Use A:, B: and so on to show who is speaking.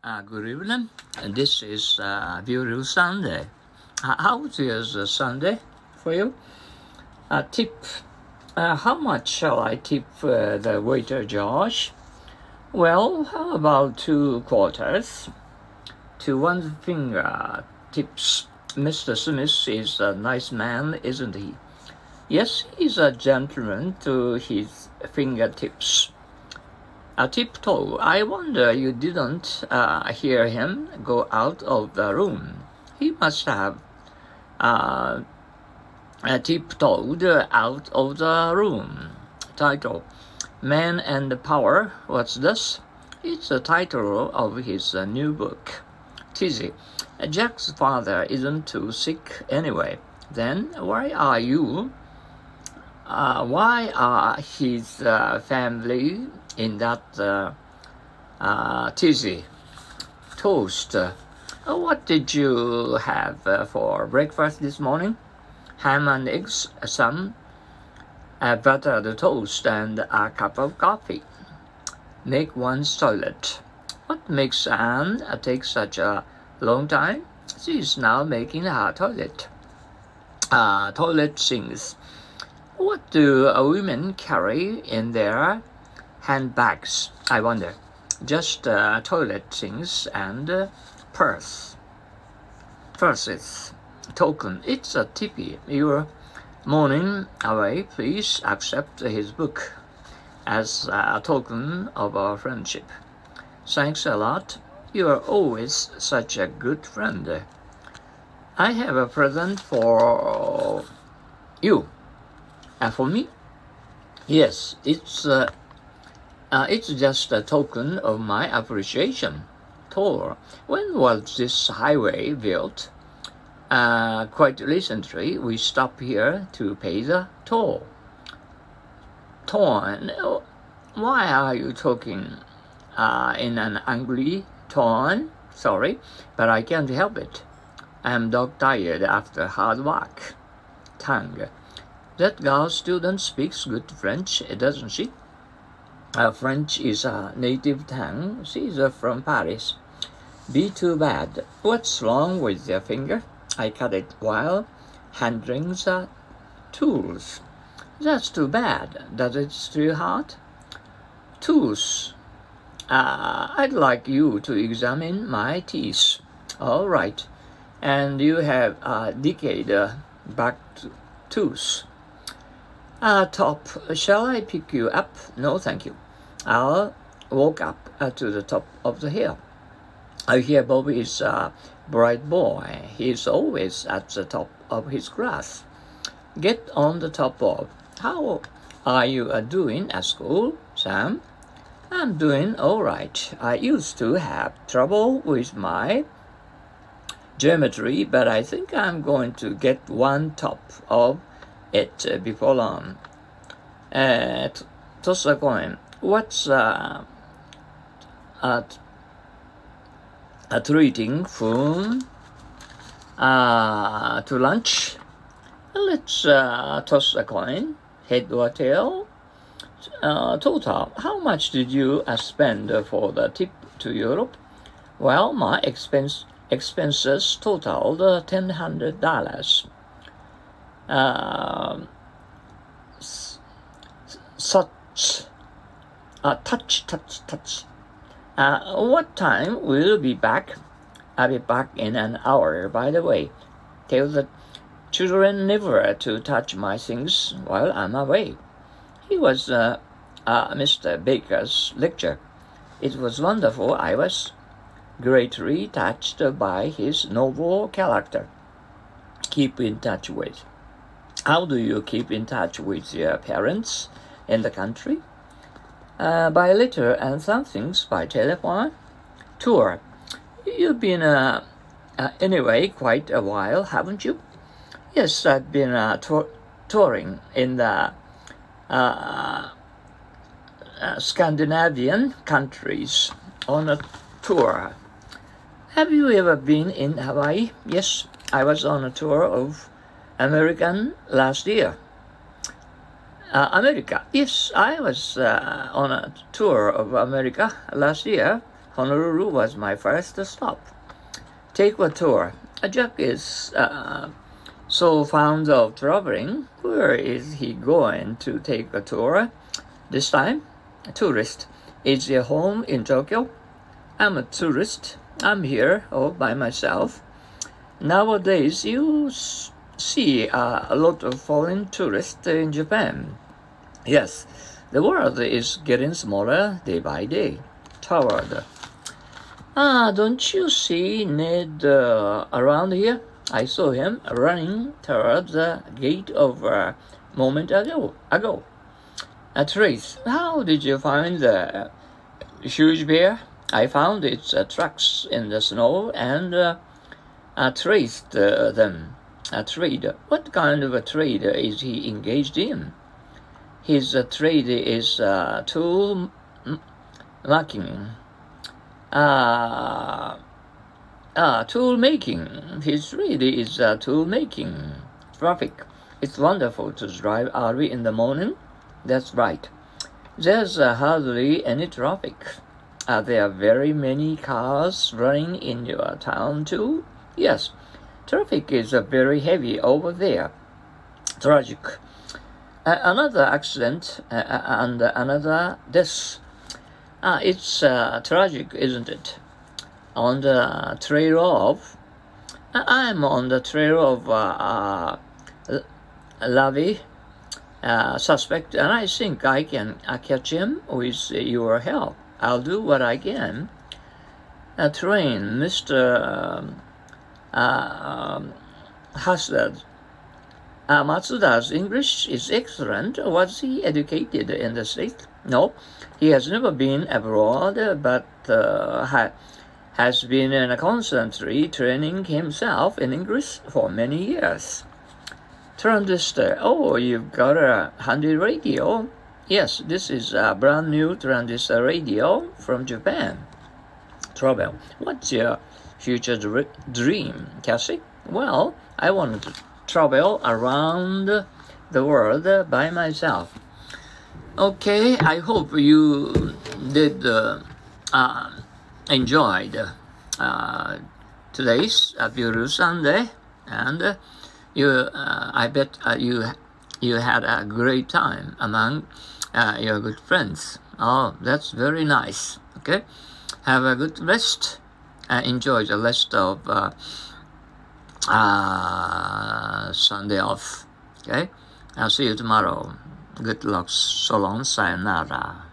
A: Good evening. This is beautiful Sunday. How is Sunday for you? Tip. How much shall I tip the waiter, Josh? Well, how about 2 quarters? To one finger tips. Mr. Smith is a nice man, isn't he? Yes, he's a gentleman to his fingertips. Tiptoe, I wonder you didn't hear him go out of the room. He must have tiptoed out of the room. Title, Man and Power. What's this? It's the title of his new book. Tizzy, Jack's father isn't too sick anyway. Then why are you? Why are his family in that tizzy? Toast. What did you have for breakfast this morning? Ham and eggs, some buttered toast, and a cup of coffee. Make one's toilet. What makes Anne take such a long time? She is now making her toilet. Toilet things. What do women carry in their handbags, I wonder? Just toilet things and purses. Token. It's a tippy. You're mourning away. Please accept his book as a token of our friendship. Thanks a lot. You are always such a good friend. I have a present for you. For me? Yes, it's just a token of my appreciation. Toll. When was this highway built? Quite recently. We stopped here to pay the toll. Tone. Why are you talking in an angry tone? Sorry, but I can't help it. I'm dog-tired after hard work. Tongue. That girl student speaks good French, doesn't she? French is a native tongue. She's from Paris. Be too bad. What's wrong with your finger? I cut it while handling the tools. That's too bad. Does it still hurt? Tools. I'd like you to examine my teeth. All right. And you have a decayed back tooth. Top, shall I pick you up? No, thank you. I'll walk up to the top of the hill. I hear Bobby is a bright boy. He's always at the top of his class. Get on the top, Bob. How are you doing at school, Sam? I'm doing all right. I used to have trouble with my geometry, but I think I'm going to get one top of it before long. Toss a coin. What's treating food to lunch? Let's toss a coin. Head or tail? Total. How much did you spend for the trip to Europe? Well, my expenses totaled $1,000. Touch. What time will you be back? I'll be back in an hour, by the way. Tell the children never to touch my things while I'm away. He was Mr. Baker's lecture. It was wonderful. I was greatly touched by his noble character. Keep in touch with. How do you keep in touch with your parents in the country? By letter and some things by telephone. Tour. You've been anyway quite a while, haven't you? Yes, I've been touring in the Scandinavian countries on a tour. Have you ever been in Hawaii? Yes, I was on a tour of America last year. America. Yes, I was on a tour of America last year. Honolulu was my first stop. Take a tour. Jack is so fond of traveling. Where is he going to take a tour this time? A tourist. Is he home in Tokyo? I'm a tourist. I'm here all by myself. Nowadays, you see a lot of foreign tourists in Japan. Yes, the world is getting smaller day by day. Toward. Don't you see Ned around here? I saw him running toward the gate of a moment ago. Trace, how did you find the huge bear? I found its tracks in the snow and traced them. A trade. What kind of a trade is he engaged in? His trade is tool making. Tool making. His trade is tool making. Traffic. It's wonderful to drive early in the morning. That's right. There's hardly any traffic. There are very many cars running in your town too? Yes. Traffic is very heavy over there. Tragic. Another accident and another death. It's tragic, isn't it? On the trail of... I'm on the trail of Lavi, suspect, and I think I can catch him with your help. I'll do what I can. Train, Mr. Haslard. Matsuda's English is excellent. Was he educated in the States? No, he has never been abroad, but has been constantly training himself in English for many years. Transistor. Oh, you've got a handy radio. Yes, this is a brand new transistor radio from Japan. Travel. What's your future dream, Cassie? Well, I want to travel around the world by myself. Okay, I hope you did enjoyed today's beautiful Sunday, and I bet you had a great time among your good friends. Oh, that's very nice. Okay, have a good rest. Enjoy the rest of Sunday off. Okay, I'll see you tomorrow. Good luck. So long. Sayonara.